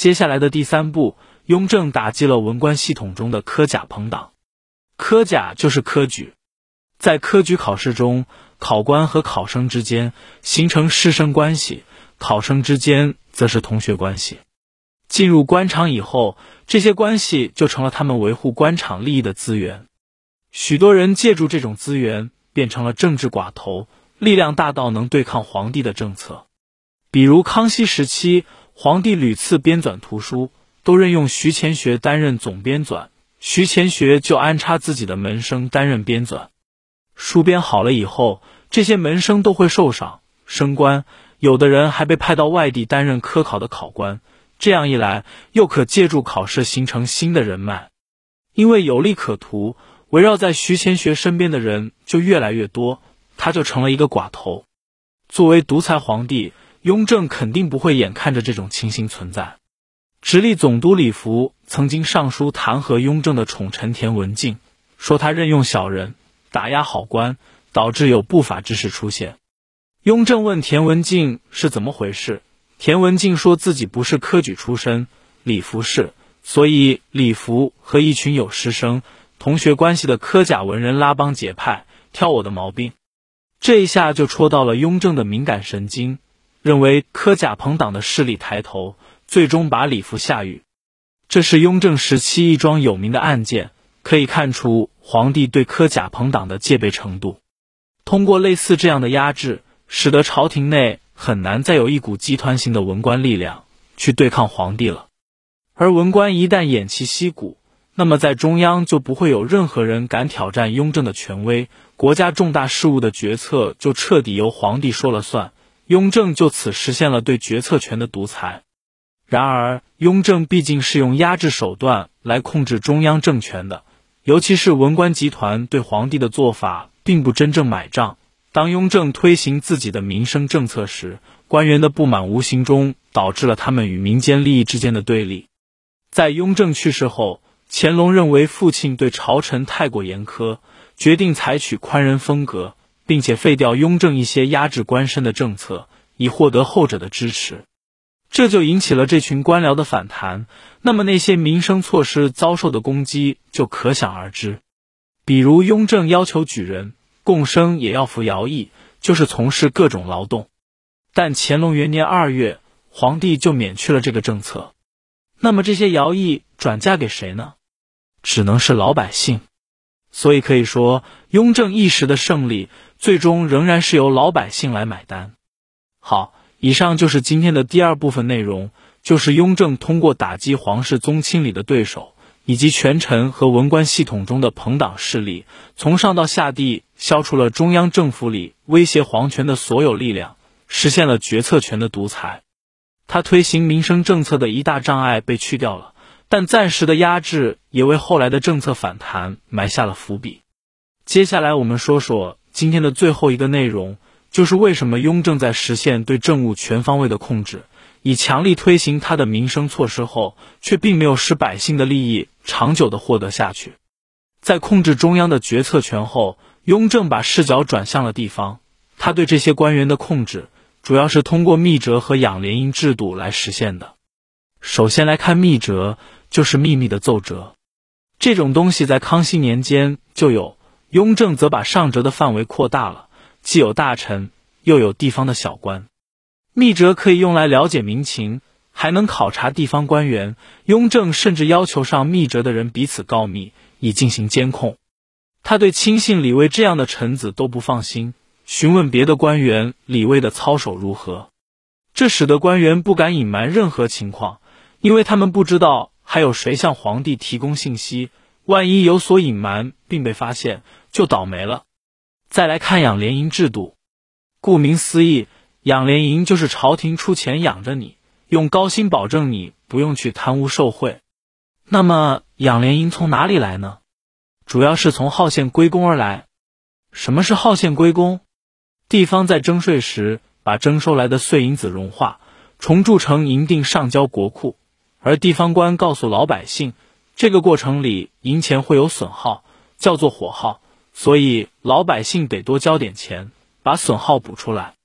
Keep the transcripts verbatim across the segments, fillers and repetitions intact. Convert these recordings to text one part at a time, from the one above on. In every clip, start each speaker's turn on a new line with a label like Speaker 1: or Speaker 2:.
Speaker 1: 接下来的第三步，雍正打击了文官系统中的科甲朋党。科甲就是科举，在科举考试中，考官和考生之间形成师生关系，考生之间则是同学关系。进入官场以后，这些关系就成了他们维护官场利益的资源。许多人借助这种资源，变成了政治寡头，力量大到能对抗皇帝的政策。比如康熙时期，皇帝屡次编纂图书，都任用徐乾学担任总编纂，徐乾学就安插自己的门生担任编纂。书编好了以后，这些门生都会受赏升官，有的人还被派到外地担任科考的考官。这样一来，又可借助考试形成新的人脉。因为有利可图，围绕在徐乾学身边的人就越来越多，他就成了一个寡头。作为独裁皇帝，雍正肯定不会眼看着这种情形存在。直隶总督李福曾经上书弹劾雍正的宠臣田文镜，说他任用小人，打压好官，导致有不法之事出现。雍正问田文镜是怎么回事，田文镜说自己不是科举出身，李福是，所以李福和一群有师生、同学关系的科甲文人拉帮结派，挑我的毛病。这一下就戳到了雍正的敏感神经，认为科甲朋党的势力抬头，最终把李福下狱。这是雍正时期一桩有名的案件，可以看出皇帝对科甲朋党的戒备程度。通过类似这样的压制，使得朝廷内很难再有一股集团型的文官力量去对抗皇帝了。而文官一旦偃旗息鼓，那么在中央就不会有任何人敢挑战雍正的权威，国家重大事务的决策就彻底由皇帝说了算，雍正就此实现了对决策权的独裁。然而，雍正毕竟是用压制手段来控制中央政权的，尤其是文官集团对皇帝的做法并不真正买账。当雍正推行自己的民生政策时，官员的不满无形中导致了他们与民间利益之间的对立。在雍正去世后，乾隆认为父亲对朝臣太过严苛，决定采取宽仁风格，并且废掉雍正一些压制官绅的政策，以获得后者的支持。这就引起了这群官僚的反弹，那么那些民生措施遭受的攻击就可想而知。比如雍正要求举人、贡生也要服徭役，就是从事各种劳动。但乾隆元年二月，皇帝就免去了这个政策。那么这些徭役转嫁给谁呢？只能是老百姓。所以可以说，雍正一时的胜利，最终仍然是由老百姓来买单。好，以上就是今天的第二部分内容，就是雍正通过打击皇室宗亲里的对手，以及权臣和文官系统中的朋党势力，从上到下地消除了中央政府里威胁皇权的所有力量，实现了决策权的独裁。他推行民生政策的一大障碍被去掉了，但暂时的压制也为后来的政策反弹埋下了伏笔。接下来我们说说今天的最后一个内容，就是为什么雍正在实现对政务全方位的控制，以强力推行他的民生措施后，却并没有使百姓的利益长久地获得下去。在控制中央的决策权后，雍正把视角转向了地方，他对这些官员的控制主要是通过密折和养廉营制度来实现的。首先来看密折，就是秘密的奏折。这种东西在康熙年间就有，雍正则把上折的范围扩大了，既有大臣，又有地方的小官。密折可以用来了解民情，还能考察地方官员。雍正甚至要求上密折的人彼此告密，以进行监控。他对亲信李卫这样的臣子都不放心，询问别的官员李卫的操守如何。这使得官员不敢隐瞒任何情况，因为他们不知道还有谁向皇帝提供信息，万一有所隐瞒并被发现，就倒霉了。再来看养廉营制度。顾名思义，养廉营就是朝廷出钱养着你，用高薪保证你不用去贪污受贿。那么养廉营从哪里来呢？主要是从号县归公而来。什么是号县归公？地方在征税时把征收来的碎银子融化，重铸成银锭上交国库，而地方官告诉老百姓，这个过程里银钱会有损耗，叫做火耗，所以老百姓得多交点钱，把损耗补出来。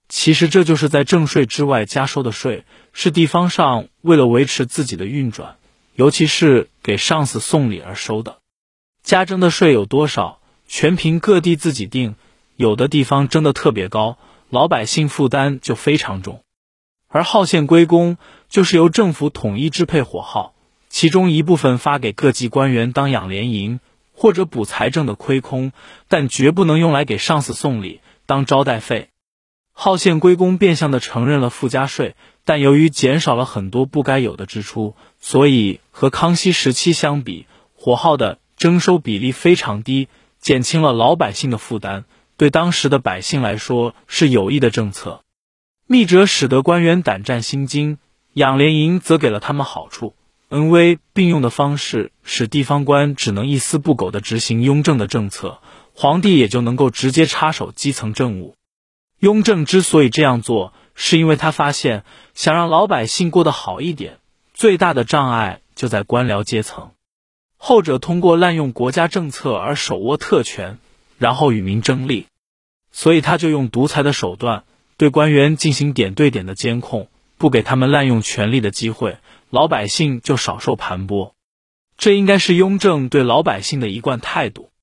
Speaker 1: 其实这就是在正税之外加收的税，是地方上为了维持自己的运转，尤其是给上司送礼而收的。加征的税有多少，全凭各地自己定，有的地方征得特别高，老百姓负担就非常重。而号县归公就是由政府统一支配火号，其中一部分发给各级官员当养廉银，或者补财政的亏空，但绝不能用来给上司送礼当招待费。号县归公变相地承认了附加税，但由于减少了很多不该有的支出，所以和康熙时期相比，火号的征收比例非常低，减轻了老百姓的负担，对当时的百姓来说是有益的政策。密折使得官员胆战心惊，养廉银则给了他们好处，恩威并用的方式使地方官只能一丝不苟地执行雍正的政策，皇帝也就能够直接插手基层政务。雍正之所以这样做，是因为他发现想让老百姓过得好一点，最大的障碍就在官僚阶层，后者通过滥用国家政策而手握特权，然后与民争利，所以他就用独裁的手段对官员进行点对点的监控，不给他们滥用权力的机会，老百姓就少受盘剥。这应该是雍正对老百姓的一贯态度。